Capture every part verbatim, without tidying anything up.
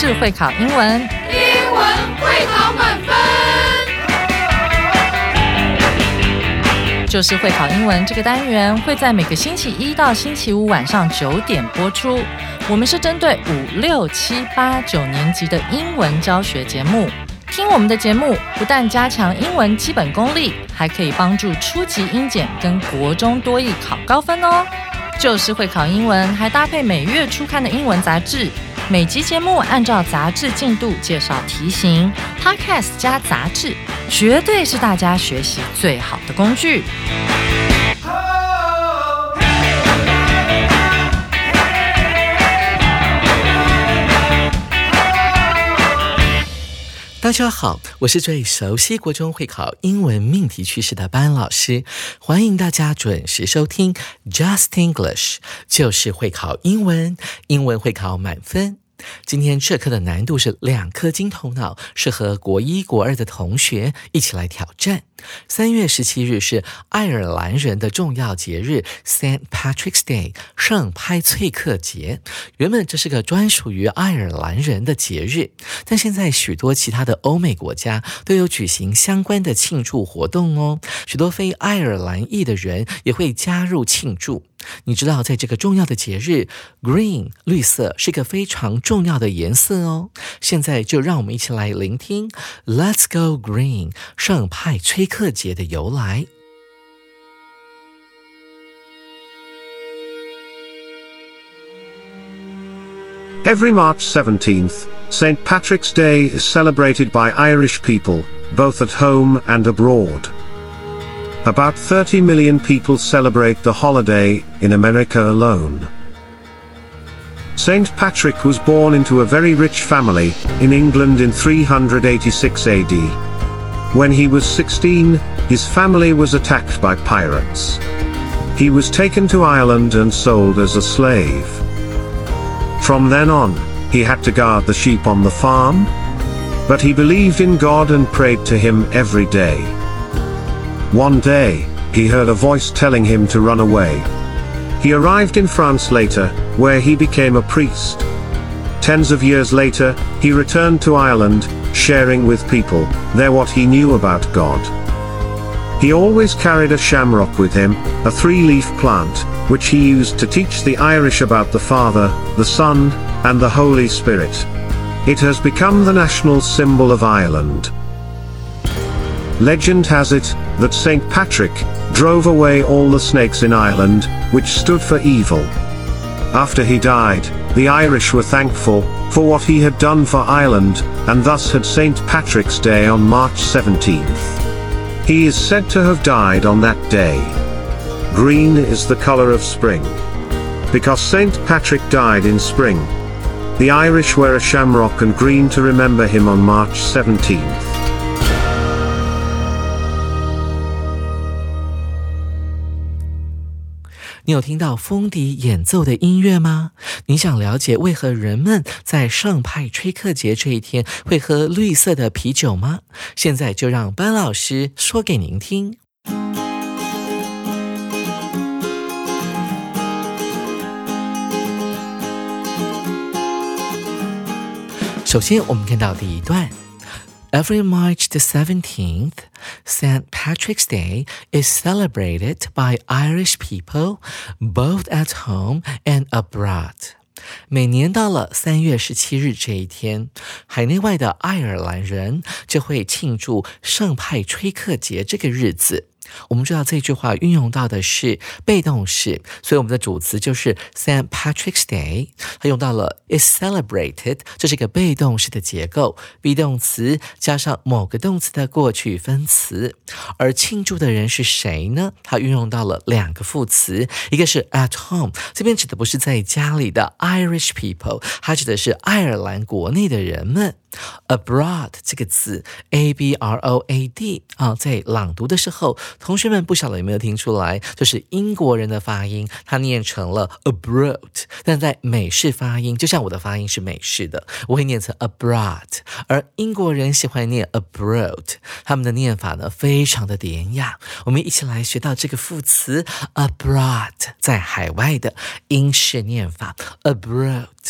就是会考英文， 英文会考满分。 就是会考英文这个单元会在每个星期一到星期五晚上九点播出。我们是针对五六七八九年级的英文教学节目。听我们的节目，不但加强英文基本功力，还可以帮助初级英检跟国中多益考高分哦。就是会考英文，还搭配每月初刊的英文杂志。每集节目按照杂志进度介绍题型 ，Podcast 加杂志，绝对是大家学习最好的工具。 大家好，我是最熟悉国中会考英文命题趋势的班老师，欢迎大家准时收听 Just English， 就是会考英文，英文会考满分。今天这课的难度是两颗金头脑，适合国一国二的同学一起来挑战。三月十七日是爱尔兰人的重要节日 Saint Patrick's Day 圣派翠克节。原本这是个专属于爱尔兰人的节日，但现在许多其他的欧美国家都有举行相关的庆祝活动哦，许多非爱尔兰裔的人也会加入庆祝。你知道在这个重要的节日 Green 绿色是个非常重要的颜色哦。现在就让我们一起来聆听 Let's Go Green 圣派崔克节的由来。 Every March seventeenth, Saint Patrick's Day is celebrated by Irish people, both at home and abroad.About thirty million people celebrate the holiday in America alone. Saint Patrick was born into a very rich family in England in three hundred eighty-six A D. When he was sixteen, his family was attacked by pirates. He was taken to Ireland and sold as a slave. From then on, he had to guard the sheep on the farm, but he believed in God and prayed to him every day.One day, he heard a voice telling him to run away. He arrived in France later, where he became a priest. Tens of years later, he returned to Ireland, sharing with people there what he knew about God. He always carried a shamrock with him, a three-leaf plant, which he used to teach the Irish about the Father, the Son, and the Holy Spirit. It has become the national symbol of Ireland.Legend has it that Saint Patrick drove away all the snakes in Ireland, which stood for evil. After he died, the Irish were thankful for what he had done for Ireland, and thus had Saint Patrick's Day on March seventeenth. He is said to have died on that day. Green is the color of spring. Because Saint Patrick died in spring, the Irish wear a shamrock and green to remember him on March seventeenth. 你有听到风笛演奏的音乐吗？你想了解为何人们在圣派崔克节这一天会喝绿色的啤酒吗？现在就让班老师说给您听。首先我们看到第一段Every March the seventeenth, Saint Patrick's Day is celebrated by Irish people, both at home and abroad. 每年到了三月十七日这一天，海内外的爱尔兰人就会庆祝圣派崔克节这个日子。我们知道这句话运用到的是被动式，所以我们的主词就是 Saint Patrick's Day， 它用到了 is celebrated， 这是一个被动式的结构 be 动词加上某个动词的过去分词。而庆祝的人是谁呢？它运用到了两个副词，一个是 at home， 这边指的不是在家里的 Irish people， 它指的是爱尔兰国内的人们。abroad 这个字 A B R O A D 啊，在朗读的时候，同学们不晓得有没有听出来，就是英国人的发音，它念成了 abroad， 但在美式发音，就像我的发音是美式的，我会念成 abroad， 而英国人喜欢念 abroad， 他们的念法呢非常的典雅。我们一起来学到这个副词 abroad， 在海外的英式念法 abroad。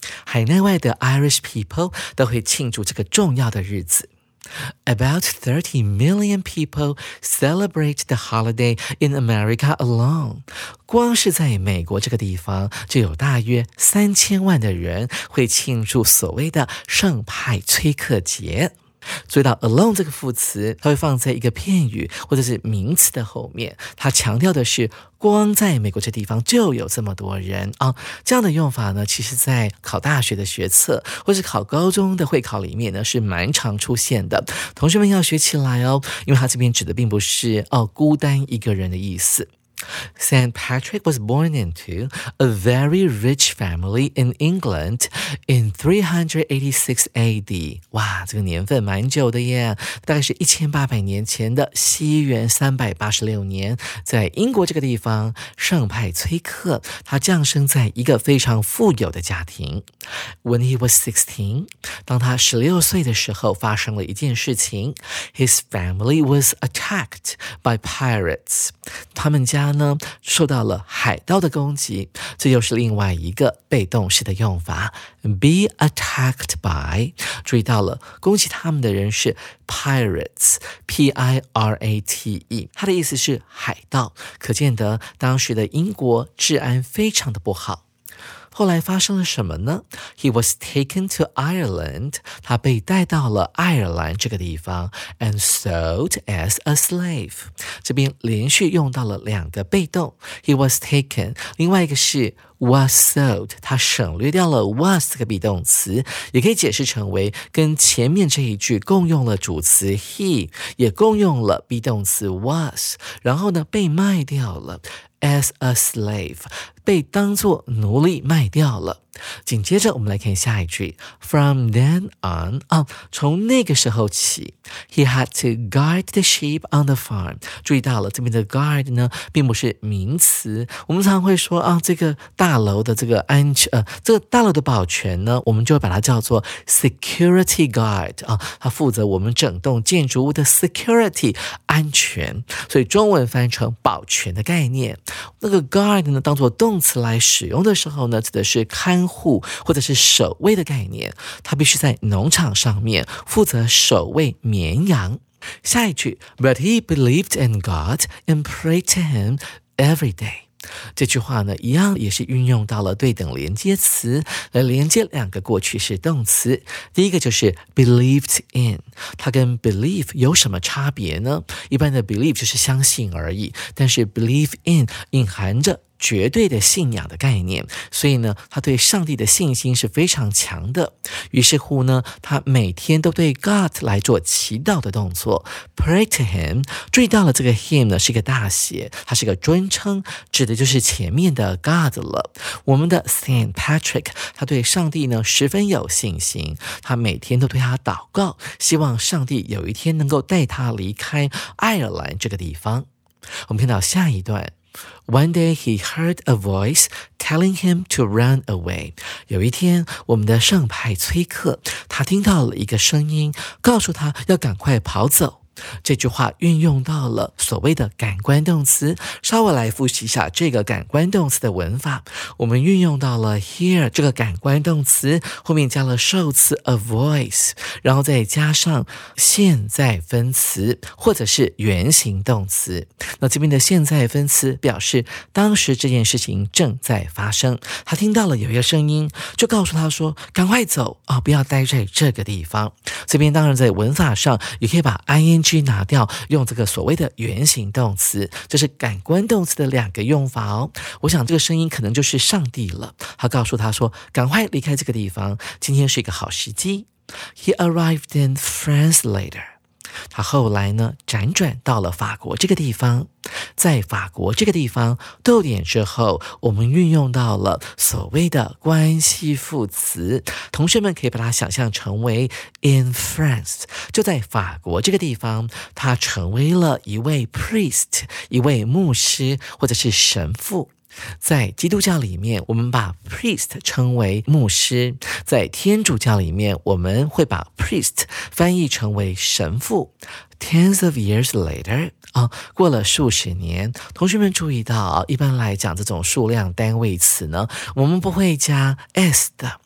海内外的 Irish people 都会庆祝这个重要的日子。About thirty million people celebrate the holiday in America alone. 光是在美国这个地方，就有大约三千万的人会庆祝所谓的圣派崔克节。注意到 alone 这个副词，它会放在一个片语或者是名词的后面，它强调的是光在美国这地方就有这么多人啊。这样的用法呢，其实在考大学的学测或是考高中的会考里面呢，是蛮常出现的。同学们要学起来哦，因为它这边指的并不是哦孤单一个人的意思。Saint Patrick was born into a very rich family in England in three eighty-six A D. 哇，这个年份蛮久的耶，大概是一千八百年前的西元三百八十六年，在英国这个地方，圣派崔克他降生在一个非常富有的家庭。When he was sixteen, 当他十六岁的时候，发生了一件事情。His family was attacked by pirates. 他们家呢受到了海盗的攻击，这又是另外一个被动式的用法 be attacked by。 注意到了，攻击他们的人是 pirates P I R A T E， 它的意思是海盗，可见得当时的英国治安非常的不好。后来发生了什么呢？ He was taken to Ireland. 他被带到了爱尔兰这个地方 and sold as a slave. 这边连续用到了两个被动 He was taken， 另外一个是 was sold， 他省略掉了 was 这个 be 动词，也可以解释成为跟前面这一句共用了主词 he， 也共用了 be 动词 was， 然后呢被卖掉了as a slave， 被当作奴隶卖掉了。紧接着我们来看下一句 From then on， 啊，从那个时候起 He had to guard the sheep on the farm。 注意到了，这边的 guard 呢并不是名词，我们常会说啊，这个大楼的这个安全呃，这个大楼的保全呢，我们就会把它叫做 security guard 啊，它负责我们整栋建筑物的 security 安全，所以中文翻成保全的概念。那个 guard 呢当作动词来使用的时候呢，指的是看护或者是守卫的概念，他必须在农场上面负责守卫绵羊。下一句 But he believed in God and prayed to him every day。这句话呢，一样也是运用到了对等连接词来连接两个过去式动词。第一个就是 believed in， 它跟 believe 有什么差别呢？一般的 believe 就是相信而已，但是 believe in 隐含着绝对的信仰的概念，所以呢，他对上帝的信心是非常强的。于是乎呢，他每天都对 God 来做祈祷的动作 ，pray to him。注意到了这个 him 呢是一个大写，它是个尊称，指的就是前面的 God 了。我们的 Saint Patrick 他对上帝呢十分有信心，他每天都对他祷告，希望上帝有一天能够带他离开爱尔兰这个地方。我们看到下一段。One day he heard a voice telling him to run away. 有一天，我们的圣派崔克，他听到了一个声音，告诉他要赶快跑走。这句话运用到了所谓的感官动词，稍微来复习一下这个感官动词的文法。我们运用到了 hear 这个感官动词，后面加了受词 a voice， 然后再加上现在分词或者是原形动词。那这边的现在分词表示当时这件事情正在发生，他听到了有一个声音，就告诉他说赶快走啊，不要待在这个地方。这边当然在文法上也可以把 ing拿掉，用这个所谓的原形动词，这是感官动词的两个用法哦。我想这个声音可能就是上帝了，他告诉他说赶快离开这个地方，今天是一个好时机。He arrived in France later。他后来呢辗转到了法国这个地方，在法国这个地方逗点之后，我们运用到了所谓的关系副词，同学们可以把它想象成为 in France， 就在法国这个地方，他成为了一位 priest， 一位牧师或者是神父。在基督教里面，我们把 priest 称为牧师；在天主教里面，我们会把 priest 翻译成为神父。Tens of years later， 啊，过了数十年，同学们注意到，一般来讲这种数量单位词呢，我们不会加 s 的，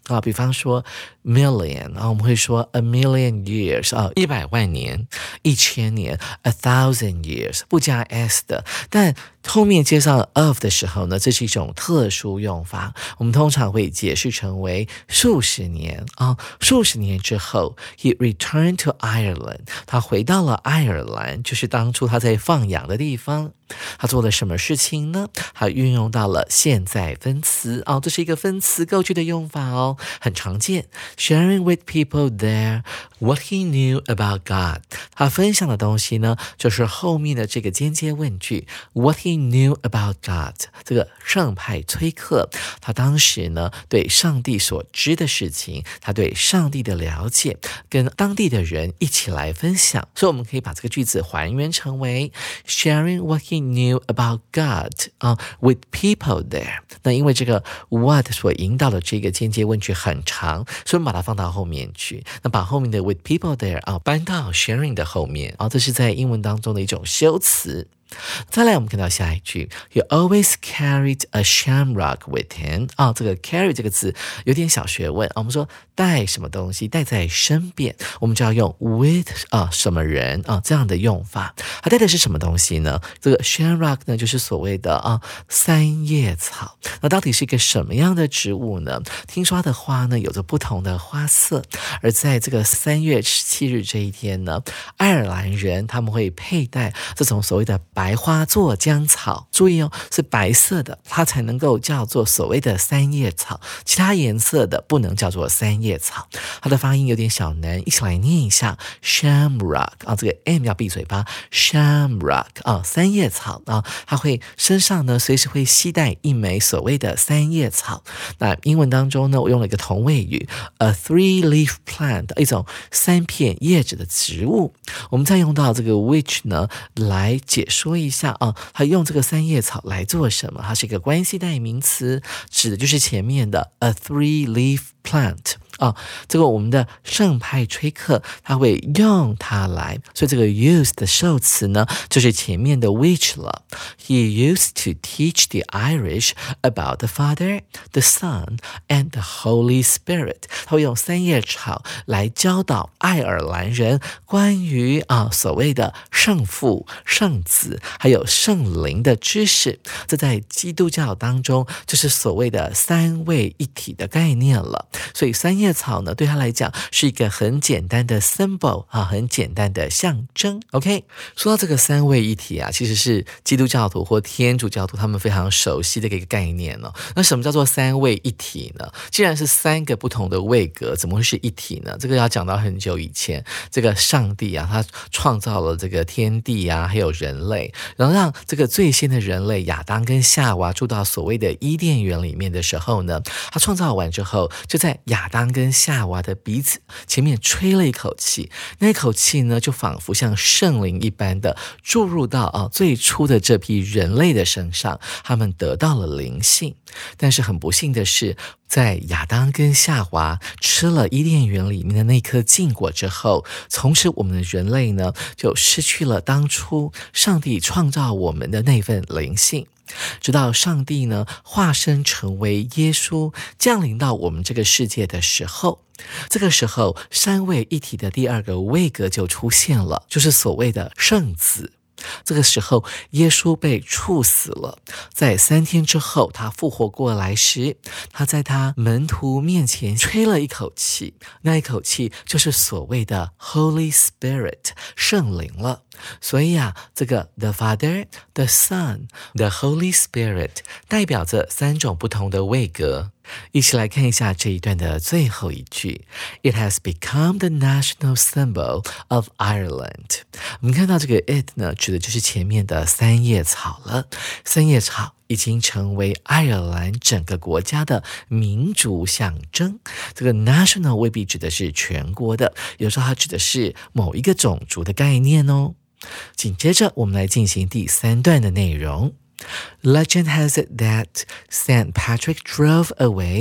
啊，比方说 million 啊，我们会说 a million years 啊，一百万年、一千年 a thousand years 不加 s 的，但后面接上了 of 的时候呢，这是一种特殊用法，我们通常会解释成为数十年啊，数十年之后 he returned to Ireland， 他回到了爱尔兰，就是当初他在放羊的地方。他做了什么事情呢？他运用到了现在分词哦，这是一个分词构句的用法哦，很常见。Sharing with people there what he knew about God， 他分享的东西呢，就是后面的这个间接问句 What he knew about God。这个圣派崔克，他当时呢对上帝所知的事情，他对上帝的了解，跟当地的人一起来分享。所以我们可以把这个句子还原成为 Sharing what he knew about God 啊、uh, with people there。 那因为这个 what 所引导的这个间接问句很长，所以我们把它放到后面去，那把后面的 with people there 啊、uh, 搬到 sharing 的后面啊、uh, 这是在英文当中的一种修辞。再来我们看到下一句 He always carried a shamrock with him 啊、哦，这个 carry 这个字有点小学问、啊、我们说带什么东西带在身边，我们就要用 with 啊什么人啊这样的用法。它带的是什么东西呢？这个 shamrock 呢就是所谓的啊三叶草。那到底是一个什么样的植物呢？听说它的花呢有着不同的花色，而在这个三月十七日这一天呢，爱尔兰人他们会佩戴这种所谓的白花做浆草，注意哦，是白色的，它才能够叫做所谓的三叶草，其他颜色的不能叫做三叶草。它的发音有点小难，一起来念一下 shamrock 啊，这个 m 要闭嘴巴 shamrock 啊，三叶草啊，它会身上呢随时会携带一枚所谓的三叶草。那英文当中呢，我用了一个同位语 a three leaf plant， 一种三片叶子的植物。我们再用到这个 which 呢来解说说一下啊，他用这个三叶草来做什么？它是一个关系代名词，指的就是前面的 a three leaf plant。啊，这个我们的圣派崔克他会用它来，所以这个 use 的受词呢就是前面的 which 了。He used to teach the Irish about the Father, the Son, and the Holy Spirit。他会用三叶草来教导爱尔兰人关于啊所谓的圣父、圣子还有圣灵的知识。这在基督教当中就是所谓的三位一体的概念了。所以三叶草呢对他来讲是一个很简单的 symbol 啊，很简单的象征。 OK， 说到这个三位一体啊，其实是基督教徒或天主教徒他们非常熟悉的一个概念哦。那什么叫做三位一体呢？既然是三个不同的位格，怎么会是一体呢？这个要讲到很久以前，这个上帝啊，他创造了这个天地啊，还有人类，然后让这个最先的人类亚当跟夏娃住到所谓的伊甸园里面的时候呢，他创造完之后，就在亚当跟夏娃的鼻子前面吹了一口气，那一口气呢就仿佛像圣灵一般的注入到啊最初的这批人类的身上，他们得到了灵性。但是很不幸的是，在亚当跟夏娃吃了伊甸园里面的那颗禁果之后，从此我们的人类呢就失去了当初上帝创造我们的那份灵性。直到上帝呢化身成为耶稣降临到我们这个世界的时候，这个时候三位一体的第二个位格就出现了，就是所谓的圣子。这个时候耶稣被处死了，在三天之后他复活过来时，他在他门徒面前吹了一口气，那一口气就是所谓的 Holy Spirit 圣灵了。所以啊，这个 The Father, the Son, the Holy Spirit 代表着三种不同的位格。一起来看一下这一段的最后一句 It has become the national symbol of Ireland。 我们看到这个 it 呢指的就是前面的三叶草了，三叶草已经成为爱尔兰整个国家的民族象征。这个 national 未必指的是全国的，有时候它指的是某一个种族的概念哦。紧接着我们来进行第三段的内容。Legend has it that Saint Patrick drove away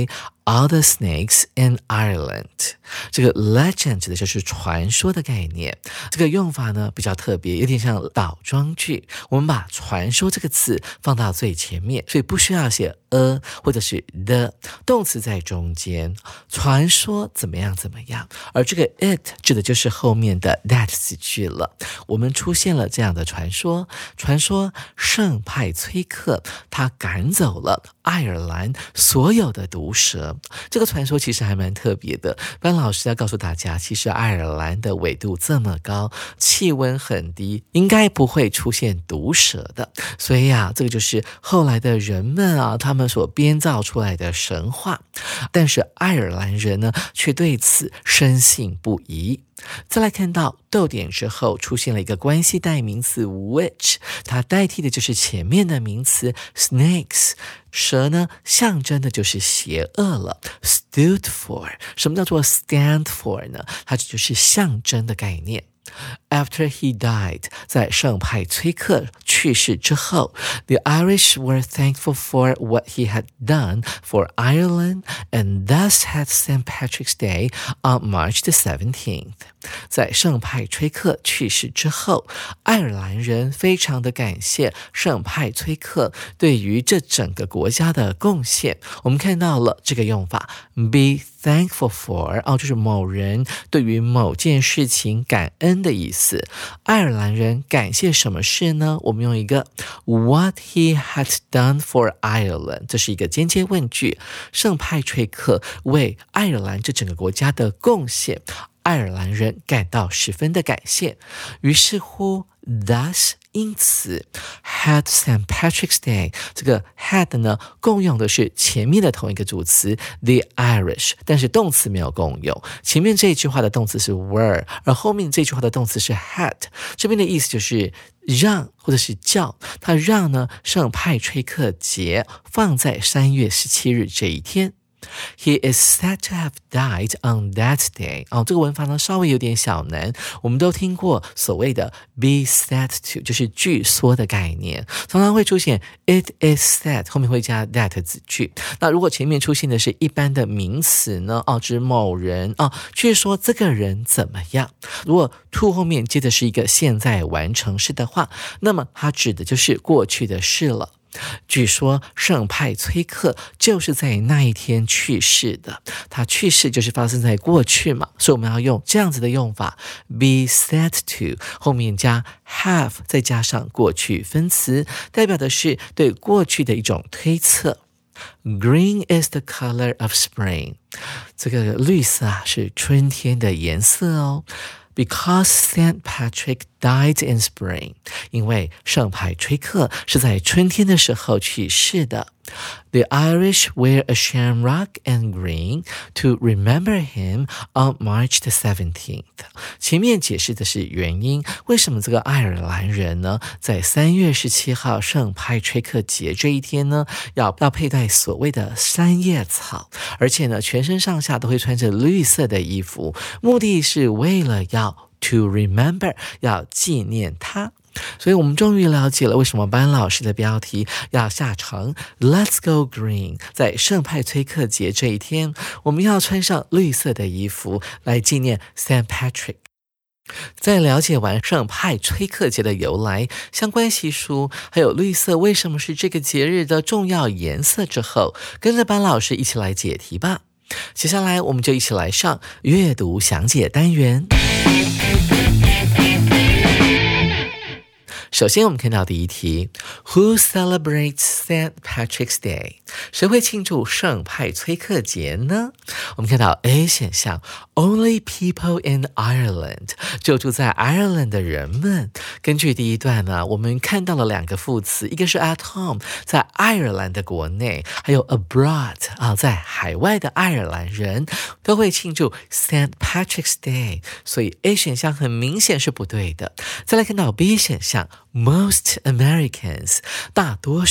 all the snakes in Ireland。 这个 legend 指的就是传说的概念，这个用法呢比较特别，有点像倒装句，我们把传说这个词放到最前面，所以不需要写 a 或者是 the， 动词在中间，传说怎么样怎么样，而这个 it 指的就是后面的 that 子句了。我们出现了这样的传说，传说圣派崔克他赶走了爱尔兰所有的毒蛇。这个传说其实还蛮特别的，班老师要告诉大家，其实爱尔兰的纬度这么高，气温很低，应该不会出现毒蛇的。所以啊，这个就是后来的人们啊，他们所编造出来的神话。但是爱尔兰人呢，却对此深信不疑。再来看到逗点之后出现了一个关系代名词 which， 它代替的就是前面的名词 snakes。 蛇呢象征的就是邪恶了。 stood for， 什么叫做 stand for 呢？它就是象征的概念。After he died， 在圣派崔克去世之后， the Irish were thankful for what he had done for Ireland and thus had Saint Patrick's Day on March the seventeenth。 在圣派崔克去世之后，爱尔兰人非常的感谢圣派崔克对于这整个国家的贡献。我们看到了这个用法 be thankful for， 哦，就是某人对于某件事情感恩的意思。爱尔兰人感谢什么事呢？我们用一个 what he had done for Ireland， 这是一个间接问句。圣派崔克为爱尔兰这整个国家的贡献，爱尔兰人感到十分的感谢。于是乎 thus 因此 had Saint Patrick's Day， 这个 had 呢共用的是前面的同一个主词 the Irish， 但是动词没有共用。前面这一句话的动词是 were， 而后面这句话的动词是 had。 这边的意思就是让或者是叫，他让呢圣派崔克节放在三月十七日这一天。He is said to have died on that day。 哦，这个文法呢稍微有点小难，我们都听过所谓的 be said to， 就是据说的概念，常常会出现 it is said， 后面会加 that 子句。那如果前面出现的是一般的名词呢，哦，指某人，哦，据说这个人怎么样。如果 to 后面接的是一个现在完成式的话，那么它指的就是过去的事了。据说圣派崔克就是在那一天去世的，他去世就是发生在过去嘛，所以我们要用这样子的用法 be said to， 后面加 have 再加上过去分词，代表的是对过去的一种推测。Green is the color of spring， 这个绿色啊是春天的颜色哦。Because Saint Patrick died in spring， 因为圣派崔克是在春天的时候去世的。The Irish wear a shamrock and green to remember him on March the seventeenth。 前面解释的是原因，为什么这个爱尔兰人呢，在三月十七号圣派崔克节这一天呢，要要佩戴所谓的三叶草，而且呢，全身上下都会穿着绿色的衣服，目的是为了要 to remember， 要纪念他。所以我们终于了解了为什么班老师的标题要下成 Let's go green。 在圣派崔克节这一天，我们要穿上绿色的衣服来纪念 Saint Patrick。 在了解完圣派崔克节的由来、相关习俗，还有绿色为什么是这个节日的重要颜色之后，跟着班老师一起来解题吧。接下来我们就一起来上阅读详解单元。首先我们看到第一题 Who celebrates Saint Patrick's Day？ 谁会庆祝圣派崔克节呢？我们看到 A 选项 Only people in Ireland， 就住在爱尔兰的人们。根据第一段呢，我们看到了两个副词，一个是 at home， 在爱尔兰的国内，还有 abroad， 啊，在海外的爱尔兰人都会庆祝 Saint Patrick's Day， 所以 A 选项很明显是不对的。再来看到 B 选项Most Americans， 大多数的美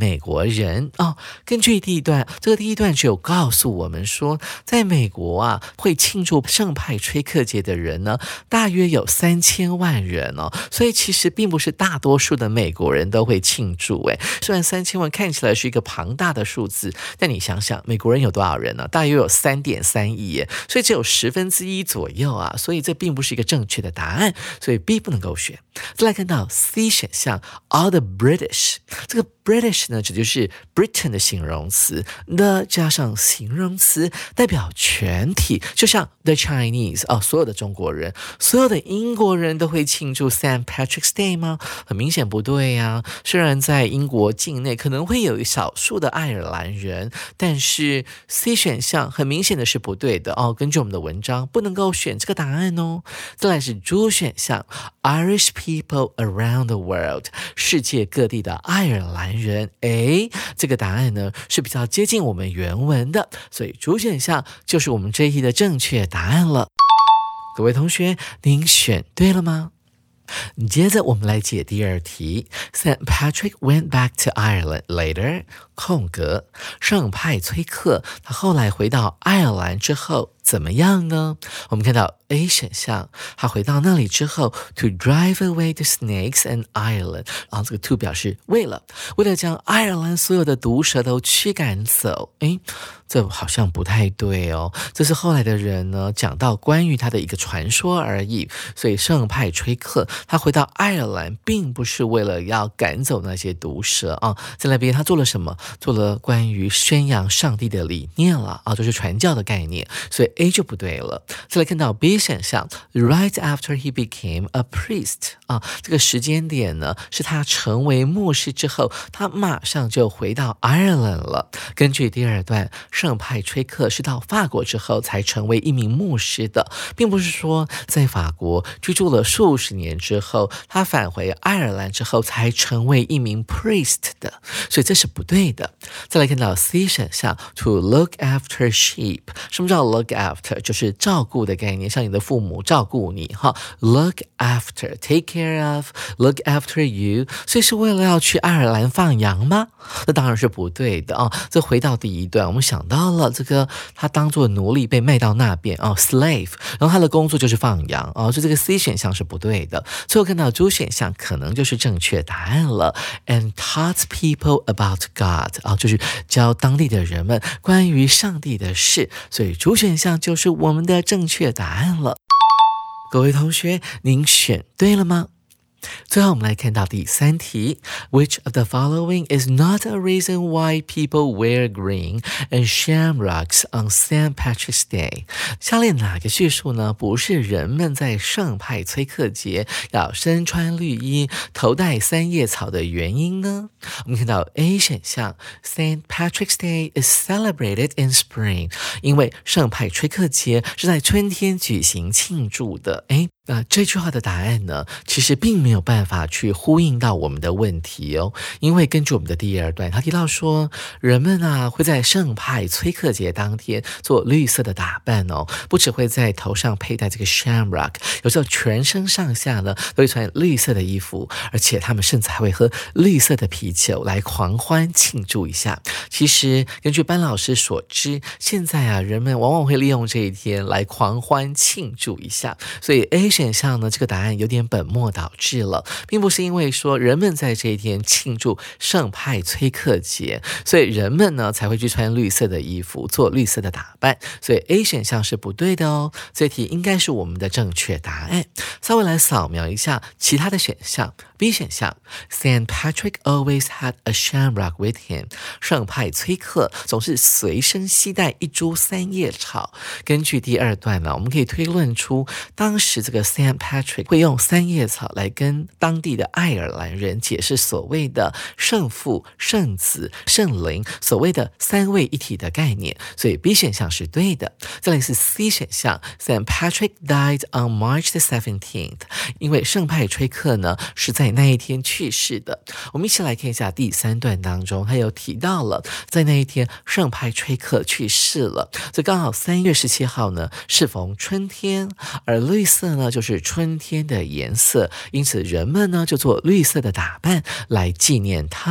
美国人哦。根据第一段，这个第一段只有告诉我们说，在美国啊，会庆祝圣派崔克节的人呢，大约有三千万人哦。所以其实并不是大多数的美国人都会庆祝。诶，虽然三千万看起来是一个庞大的数字，但你想想，美国人有多少人呢？大约有三点三亿耶，所以只有十分之一左右啊。所以这并不是一个正确的答案，所以 B 不能够选。再来看到 C 选项 ，all the British， 这个 British 呢，指的就是 Britain 的形容词 ，the 加上形容词代表全体，就像 the Chinese 哦，所有的中国人，所有的英国人都会庆祝 Saint Patrick's Day 吗？很明显不对呀、啊。虽然在英国境内可能会有少数的爱尔兰人，但是 C 选项很明显的是不对的哦。根据我们的文章，不能够选这个答案哦。再来是 D 选项 ，Irish people around the world， 世界各地的爱尔兰人。诶，这个答案呢是比较接近我们原文的，所以 D 选项就是我们这一题的正确答案了。各位同学，您选对了吗？接着我们来解第二题 Saint Patrick went back to Ireland later 空格圣派崔克他后来回到爱尔兰之后怎么样呢？我们看到 A 选项，他回到那里之后 to drive away the snakes and Ireland， 然后这个 to 表示为了为了将爱尔兰所有的毒蛇都驱赶走。诶，这好像不太对哦，这是后来的人呢讲到关于他的一个传说而已。所以圣派崔克他回到爱尔兰并不是为了要赶走那些毒蛇啊，在那边他做了什么？做了关于宣扬上帝的理念了啊，就是传教的概念，所以 A 就不对了。再来看到 B 选项 Right after he became a priest 啊，这个时间点呢是他成为牧师之后，他马上就回到爱尔兰了。根据第二段，圣派崔克是到法国之后才成为一名牧师的，并不是说在法国居住了数十年之后，他返回爱尔兰之后才成为一名 priest 的，所以这是不对的。再来看到 C 选项 To look after sheep， 什么叫 look after？ 就是照顾的概念，像你的父母照顾你哈。Look after take care of look after you， 所以是为了要去爱尔兰放羊吗？那当然是不对的啊。这回到第一段，我们想到了这个他当作奴隶被卖到那边啊 slave， 然后他的工作就是放羊啊，所以这个 C 选项是不对的。最后看到 D 选项可能就是正确答案了 and taught people about God 啊，就是教当地的人们关于上帝的事，所以 D 选项就是我们的正确答案了。各位同学，您选对了吗？最后我们来看到第三题 Which of the following is not a reason why people wear green and shamrocks on Saint Patrick's Day？ 下列哪个叙述呢不是人们在圣派崔克节要身穿绿衣头戴三叶草的原因呢？我们看到 A 选项 Saint Patrick's Day is celebrated in spring， 因为圣派崔克节是在春天举行庆祝的。诶那这句话的答案呢，其实并没有办法去呼应到我们的问题哦，因为根据我们的第二段，他提到说，人们啊会在圣派崔克节当天做绿色的打扮哦，不只会在头上佩戴这个 shamrock， 有时候全身上下呢都会穿绿色的衣服，而且他们甚至还会喝绿色的啤酒来狂欢庆祝一下。其实根据班老师所知，现在啊人们往往会利用这一天来狂欢庆祝一下，所以 A选项呢，这个答案有点本末倒置了，并不是因为说人们在这一天庆祝圣派崔克节，所以人们呢才会去穿绿色的衣服，做绿色的打扮，所以 A 选项是不对的哦。这题应该是我们的正确答案。稍微来扫描一下其他的选项 ，B 选项 Saint Patrick always had a shamrock with him， 圣派崔克总是随身携带一株三叶草。根据第二段呢，我们可以推论出当时这个Saint Patrick 会用三叶草来跟当地的爱尔兰人解释所谓的圣父、圣子、圣灵，所谓的三位一体的概念，所以 B 选项是对的。再来是 C 选项 Saint Patrick died on March the seventeenth， 因为圣派崔克呢是在那一天去世的。我们一起来看一下第三段当中，他有提到了在那一天圣派崔克去世了，这刚好三月十七号呢适逢春天，而绿色呢就是春天的颜色，因此人们呢就做绿色的打扮来纪念它了。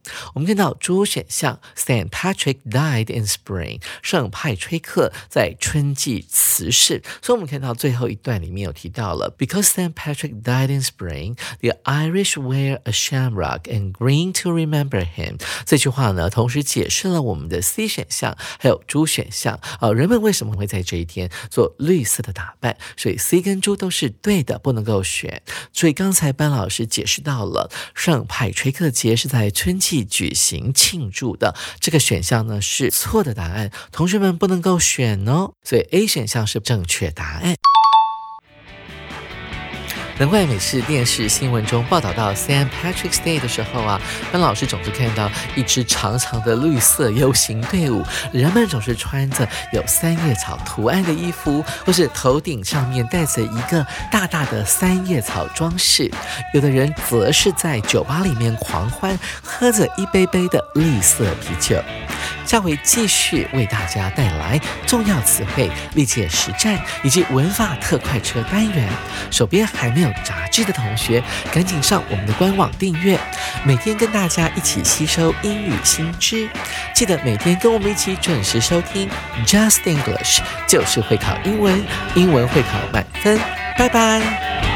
我们看到主选项 Saint Patrick died in spring， 圣派崔克在春季辞世，所以我们看到最后一段里面有提到了 Because Saint Patrick died in spring, the Irish wear a shamrock and green to remember him。 这句话呢同时解释了我们的 C 选项还有猪选项、呃、人们为什么会在这一天做绿色的打扮，所以 C 跟猪都是对的，不能够选。所以刚才班老师解释到了圣派崔克节是在春季举行庆祝的，这个选项呢是错的答案，同学们不能够选哦，所以 A 选项是正确答案。难怪每次电视新闻中报道到 Saint Patrick's Day 的时候啊，班老师总是看到一支长长的绿色游行队伍，人们总是穿着有三叶草图案的衣服，或是头顶上面戴着一个大大的三叶草装饰，有的人则是在酒吧里面狂欢，喝着一杯杯的绿色啤酒。下回继续为大家带来重要词汇、历届实战以及文法特快车单元。手边还没有杂志的同学，赶紧上我们的官网订阅，每天跟大家一起吸收英语新知。记得每天跟我们一起准时收听 Just English， 就是会考英文，英文会考满分。拜拜。